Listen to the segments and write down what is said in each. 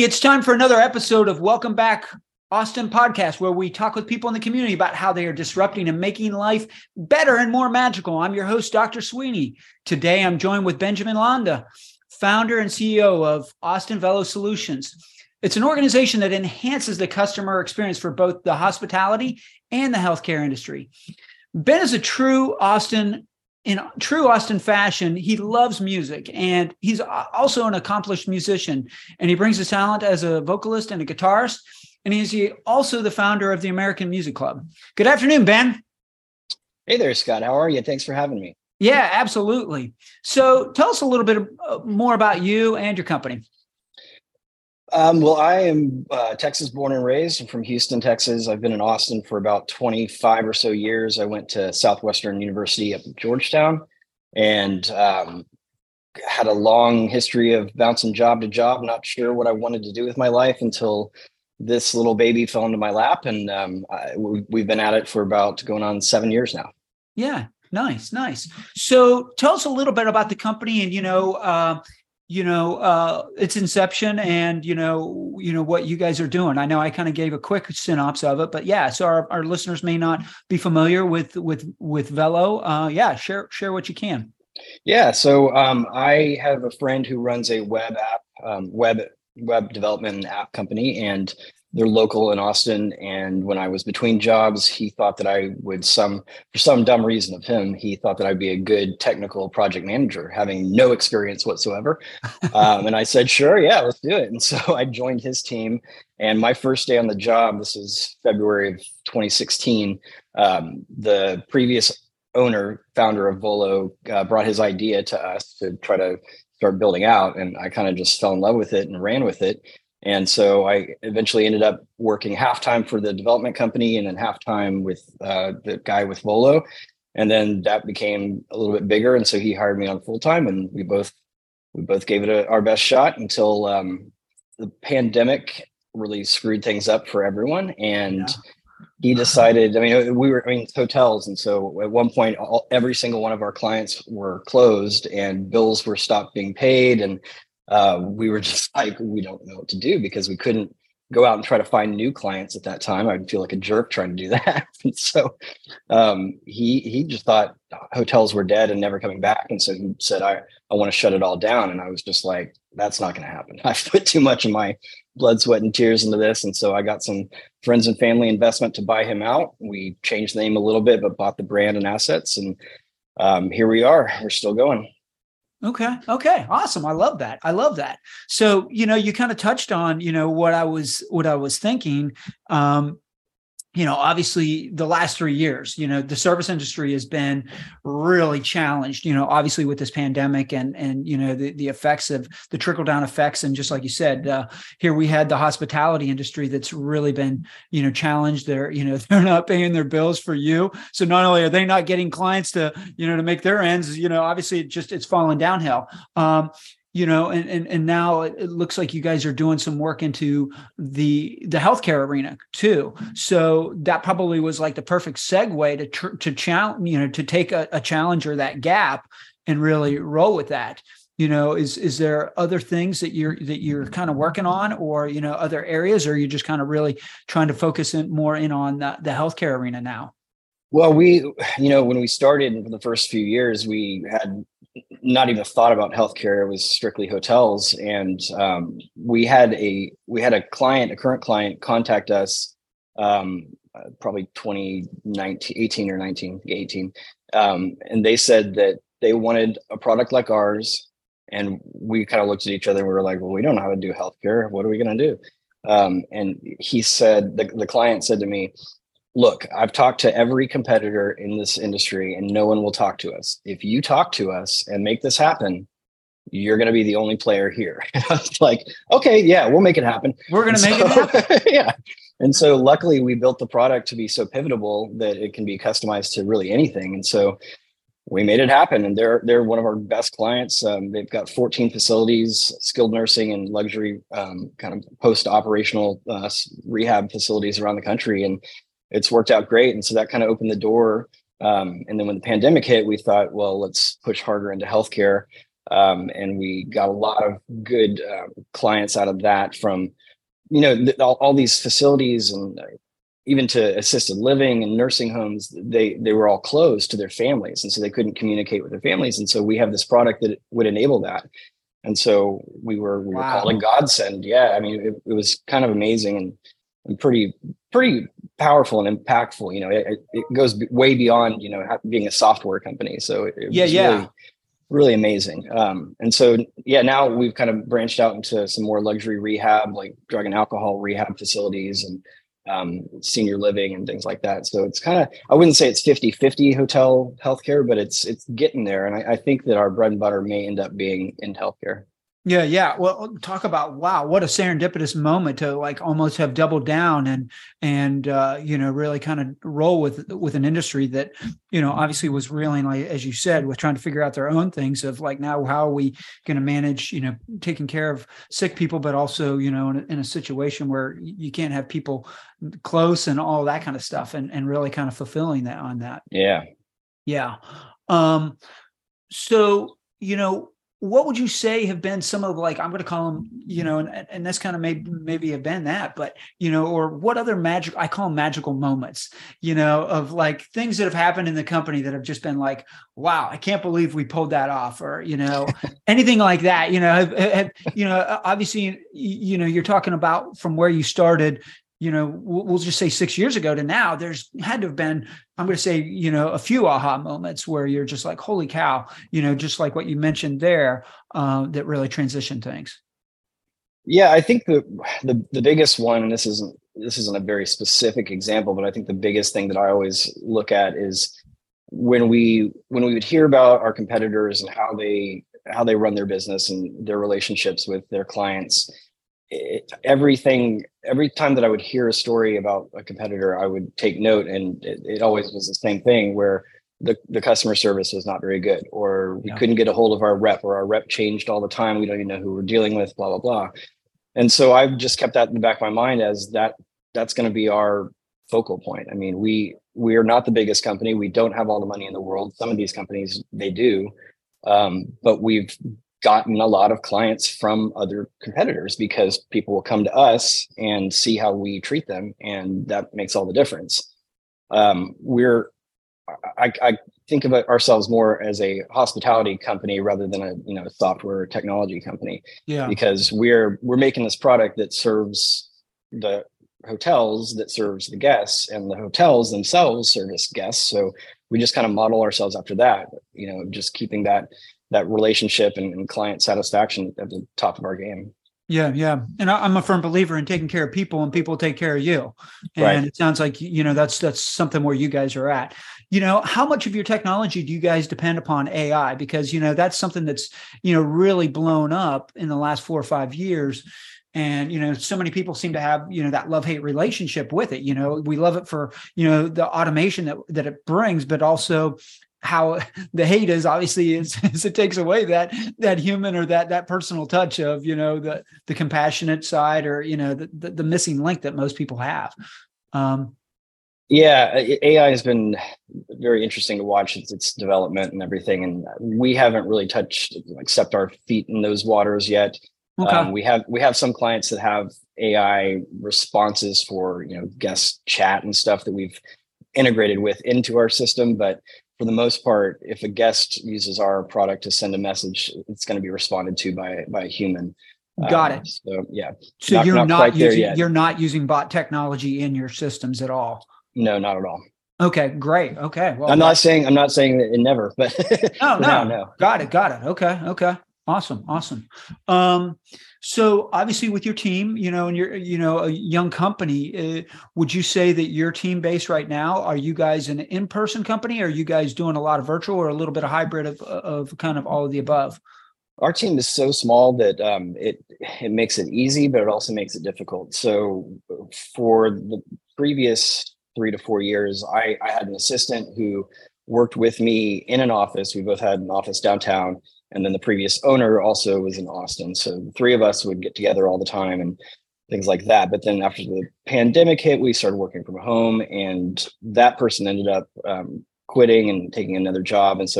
It's time for another episode of Welcome Back Austin Podcast, where we talk with people in the community about how they are disrupting and making life better and more magical. I'm your host, Dr. Sweeney. Today, I'm joined with Benjamin Landa, founder and CEO of Austin Velo Solutions. It's an organization that enhances the customer experience for both the hospitality and the healthcare industry. Ben is a true Austin fashion. He loves music, and he's also an accomplished musician, and he brings his talent as a vocalist and a guitarist, and he's also the founder of the American Music Club. Good afternoon, Ben. Hey there, Scott. How are you? Thanks for having me. Yeah, absolutely. So tell us a little bit more about you and your company. Well, I am Texas born and raised. I'm from Houston, Texas. I've been in Austin for about 25 or so years. I went to Southwestern University up in Georgetown and had a long history of bouncing job to job, not sure what I wanted to do with my life until this little baby fell into my lap. And we've been at it for about going on 7 years now. Yeah, nice. So tell us a little bit about the company and, its inception and, what you guys are doing. I know I kind of gave a quick synopsis of it, but yeah, so our listeners may not be familiar with Velo. Share what you can. Yeah. So I have a friend who runs a web app, web development app company, and they're local in Austin. And when I was between jobs, he thought that I would for some dumb reason of him, he thought that I'd be a good technical project manager, having no experience whatsoever. And I said, sure, yeah, let's do it. And so I joined his team. And my first day on the job, this was February of 2016, the previous founder of Volo, brought his idea to us to try to start building out. And I kind of just fell in love with it and ran with it. And so I eventually ended up working half-time for the development company and then half-time with the guy with Volo. And then that became a little bit bigger. And so he hired me on full-time, and we both gave it our best shot until the pandemic really screwed things up for everyone. And he decided, it's hotels. And so at one point, every single one of our clients were closed and bills were stopped being paid. And we were just like, we don't know what to do because we couldn't go out and try to find new clients at that time. I'd feel like a jerk trying to do that. And so he just thought hotels were dead and never coming back. And so he said, I want to shut it all down. And I was just like, that's not going to happen. I've put too much of my blood, sweat, and tears into this. And so I got some friends and family investment to buy him out. We changed the name a little bit, but bought the brand and assets. And here we are. We're still going. Okay. Awesome. I love that. So, you kind of touched on, what I was thinking. Obviously the last 3 years, the service industry has been really challenged, obviously with this pandemic and the effects of the trickle down effects. And just like you said, here we had the hospitality industry that's really been, challenged. They're not paying their bills for you. So not only are they not getting clients to make their ends, obviously it's fallen downhill. And now it looks like you guys are doing some work into the healthcare arena too. So that probably was like the perfect segue to challenge, to take a challenge or that gap and really roll with that. Is there other things that you're kind of working on, or other areas, or are you just kind of really trying to focus more in on the healthcare arena now? Well, when we started in the first few years, we had not even thought about healthcare. It was strictly hotels. And we had a current client contact us probably 2018 or 2018. And they said that they wanted a product like ours. And we kind of looked at each other and we were like, well, we don't know how to do healthcare. What are we going to do? And he said, the client said to me, look, I've talked to every competitor in this industry and no one will talk to us. If you talk to us and make this happen, you're going to be the only player here. I was like, okay, yeah, we'll make it happen. We're going to make it happen. Yeah. And so luckily we built the product to be so pivotable that it can be customized to really anything. And so we made it happen. And they're one of our best clients. They've got 14 facilities, skilled nursing and luxury kind of post-operational rehab facilities around the country. And it's worked out great. And so that kind of opened the door. And then when the pandemic hit, we thought, well, let's push harder into healthcare. And we got a lot of good clients out of that from, all these facilities and even to assisted living and nursing homes. They were all closed to their families, and so they couldn't communicate with their families. And so we have this product that would enable that. And so we were Wow. called a godsend. Yeah, I mean, it was kind of amazing and pretty powerful and impactful. It goes way beyond being a software company. So it was really amazing. And so now we've kind of branched out into some more luxury rehab, like drug and alcohol rehab facilities and senior living and things like that. So it's kind of, I wouldn't say it's 50-50 hotel healthcare, but it's getting there. And I think that our bread and butter may end up being in healthcare. Yeah, yeah. Well, talk about, wow, what a serendipitous moment to like almost have doubled down and really kind of roll with an industry that, obviously was reeling, like as you said, with trying to figure out their own things of like, now how are we going to manage, taking care of sick people, but also, in a situation where you can't have people close and all that kind of stuff, and really kind of fulfilling that on that. Yeah. Yeah. So, what would you say have been some of, like, I'm going to call them, and that's kind of maybe have been that, but, or what other I call them magical moments, of like things that have happened in the company that have just been like, wow, I can't believe we pulled that off, or, anything like that, obviously, you're talking about from where you started, we'll just say 6 years ago to now, there's had to have been, I'm going to say, a few aha moments where you're just like, holy cow, just like what you mentioned there, that really transitioned things. Yeah, I think the biggest one, and this isn't a very specific example, but I think the biggest thing that I always look at is when we would hear about our competitors and how they run their business and their relationships with their clients. Every time that I would hear a story about a competitor, I would take note, and it always was the same thing where the customer service was not very good, or we couldn't get a hold of our rep, or our rep changed all the time. We don't even know who we're dealing with, blah, blah, blah. And so I've just kept that in the back of my mind as that's going to be our focal point. I mean, we are not the biggest company. We don't have all the money in the world. Some of these companies, they do. But we've gotten a lot of clients from other competitors because people will come to us and see how we treat them, and that makes all the difference. I think of ourselves more as a hospitality company rather than a software technology company. Yeah, because we're making this product that serves the hotels, that serves the guests, and the hotels themselves service guests. So we just kind of model ourselves after that. Just keeping that relationship and client satisfaction at the top of our game. Yeah. Yeah. And I'm a firm believer in taking care of people, and people take care of you. And right. It sounds like, that's something where you guys are at. How much of your technology do you guys depend upon AI? Because, that's something that's, really blown up in the last 4 or 5 years. And, so many people seem to have, that love-hate relationship with it. We love it for, the automation that it brings, but also how the hate is obviously is it takes away that human or that personal touch of, the compassionate side, or, the missing link that most people have. AI has been very interesting to watch its development and everything. And we haven't really touched, except our feet in those waters yet. Okay. We have some clients that have AI responses for, guest chat and stuff that we've integrated into our system. But for the most part, if a guest uses our product to send a message, it's going to be responded to by a human. Got it. So yeah. So you're not using bot technology in your systems at all? No, not at all. Okay, great. Okay. Well, I'm not saying that it never, but no. Got it. Okay. Awesome. So obviously with your team, and you're, a young company, would you say that your team base right now, are you guys an in-person company? Or are you guys doing a lot of virtual, or a little bit of hybrid of kind of all of the above? Our team is so small that it makes it easy, but it also makes it difficult. So for the previous 3 to 4 years, I had an assistant who worked with me in an office. We both had an office downtown. And then the previous owner also was in Austin. So the three of us would get together all the time and things like that. But then after the pandemic hit, we started working from home, and that person ended up quitting and taking another job. And so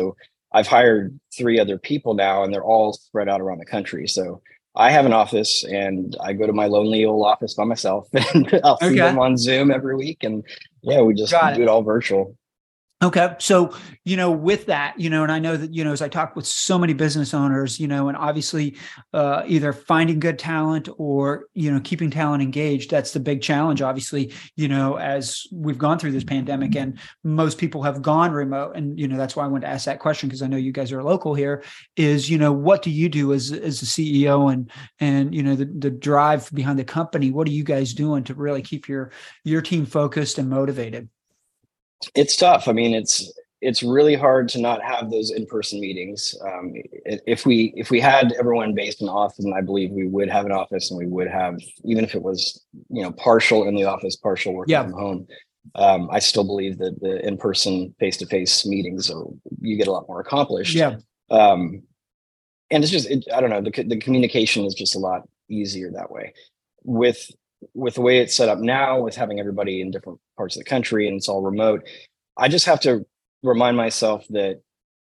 I've hired 3 other people now, and they're all spread out around the country. So I have an office, and I go to my lonely old office by myself, and I'll see Okay. them on Zoom every week. And yeah, we just Got do it. it all virtual. Okay. So, with that, and I know that, as I talk with so many business owners, and obviously either finding good talent or, keeping talent engaged, that's the big challenge, obviously, as we've gone through this pandemic and most people have gone remote. And, that's why I wanted to ask that question, because I know you guys are local here is, what do you do as a CEO and, the drive behind the company? What are you guys doing to really keep your team focused and motivated? It's tough. I mean, it's really hard to not have those in-person meetings. If we had everyone based in Austin, I believe we would have an office, and we would have, even if it was partial in the office, partial working from home. I still believe that the in-person face-to-face meetings you get a lot more accomplished. Yeah. And it's just I don't know, the communication is just a lot easier that way. With the way it's set up now, with having everybody in different parts of the country and it's all remote, I just have to remind myself that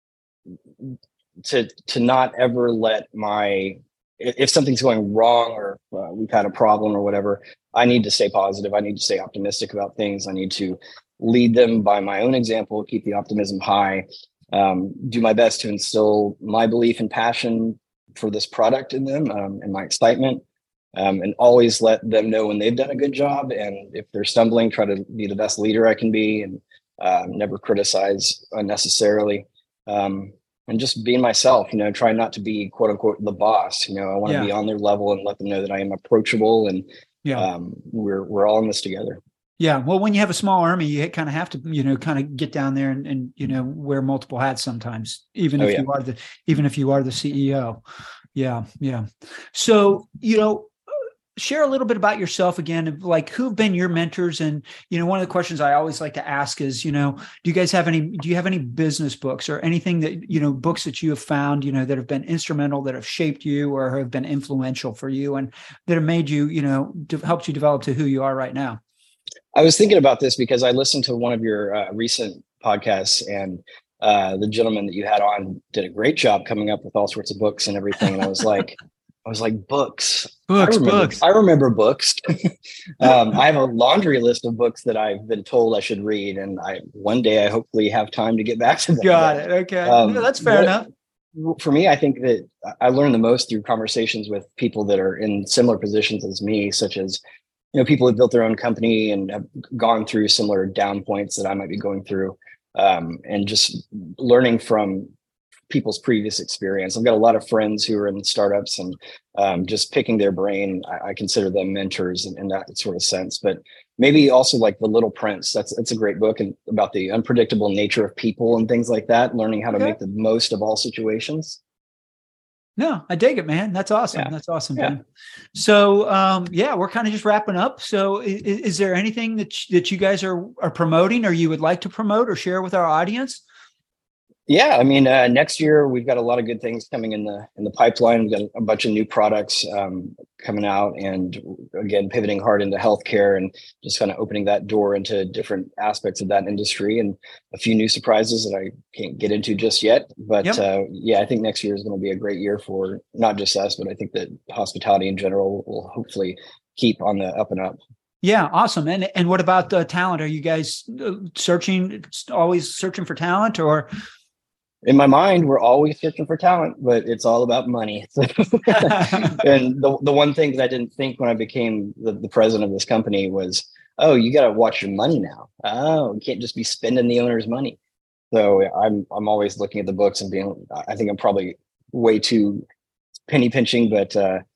to not ever let if something's going wrong or we've had a problem or whatever, I need to stay positive. I need to stay optimistic about things. I need to lead them by my own example, keep the optimism high, do my best to instill my belief and passion for this product in them, and my excitement. And always let them know when they've done a good job. And if they're stumbling, try to be the best leader I can be, and never criticize unnecessarily. And just being myself, try not to be quote unquote the boss. I want to be on their level and let them know that I am approachable, and we're all in this together. Yeah. Well, when you have a small army, you kind of have to, kind of get down there and wear multiple hats sometimes, even if you are the CEO. Yeah. Yeah. So, share a little bit about yourself again, like who've been your mentors. And, one of the questions I always like to ask is, do you have any business books or anything that, books that you have found, that have been instrumental, that have shaped you or have been influential for you and that have made you, helped you develop to who you are right now? I was thinking about this because I listened to one of your recent podcasts, and the gentleman that you had on did a great job coming up with all sorts of books and everything. And I was like, books. I remember books. I have a laundry list of books that I've been told I should read, and one day I hopefully have time to get back to them. Got it. Okay, that's fair enough. For me, I think that I learn the most through conversations with people that are in similar positions as me, such as people who've built their own company and have gone through similar down points that I might be going through, and just learning from people's previous experience. I've got a lot of friends who are in startups, and just picking their brain, I consider them mentors in that sort of sense. But maybe also like The Little Prince. That's a great book, and about the unpredictable nature of people and things like that, learning how to make the most of all situations. No, I dig it, man. That's awesome. Yeah. That's awesome, Ben. So, we're kind of just wrapping up. So is there anything that you guys are promoting or you would like to promote or share with our audience? Yeah, I mean, next year we've got a lot of good things coming in the pipeline. We've got a bunch of new products coming out, and again, pivoting hard into healthcare and just kind of opening that door into different aspects of that industry, and a few new surprises that I can't get into just yet. But I think next year is going to be a great year for not just us, but I think that hospitality in general will hopefully keep on the up and up. Yeah, awesome. And what about the talent? Are you guys always searching for talent, or? In my mind, we're always searching for talent, but it's all about money. And the one thing that I didn't think when I became the president of this company was, oh, you got to watch your money now. Oh, you can't just be spending the owner's money. So I'm always looking at the books and I think I'm probably way too penny pinching, but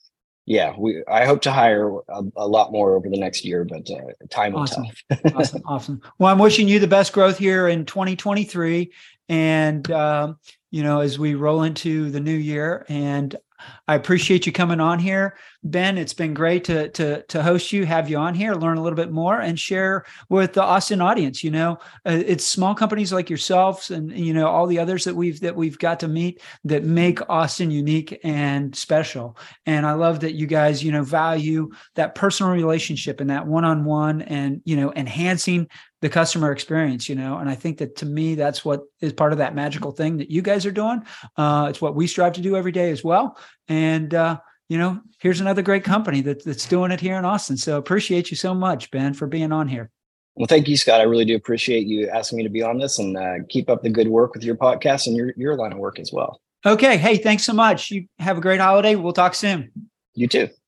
I hope to hire a lot more over the next year, but time will tell. Awesome. Well, I'm wishing you the best growth here in 2023. And, as we roll into the new year, and I appreciate you coming on here, Ben. It's been great to host you, have you on here, learn a little bit more, and share with the Austin audience. It's small companies like yourselves and all the others that we've got to meet that make Austin unique and special. And I love that you guys value that personal relationship and that one-on-one, and enhancing the customer experience, and I think that to me, that's what is part of that magical thing that you guys are doing. It's what we strive to do every day as well. And, here's another great company that's doing it here in Austin. So appreciate you so much, Ben, for being on here. Well, thank you, Scott. I really do appreciate you asking me to be on this, and keep up the good work with your podcast and your line of work as well. Okay. Hey, thanks so much. You have a great holiday. We'll talk soon. You too.